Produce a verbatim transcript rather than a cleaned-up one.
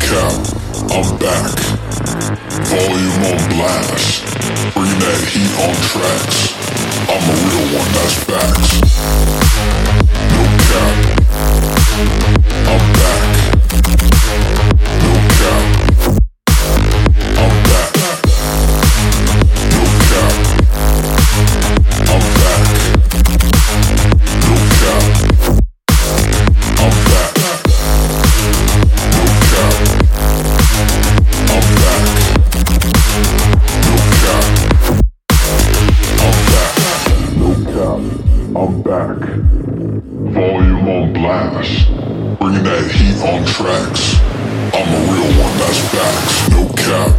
cap, I'm back. Volume on blast. Bring that heat on tracks. I'm a real one, that's facts. No cap, I'm back. No cap, I'm back. No cap, I'm back. No cap, I'm back. No cap, I'm back. No cap, I'm back. No cap, I'm back. Volume on blast. Bringing that heat on tracks. I'm a real one, that's facts. No cap.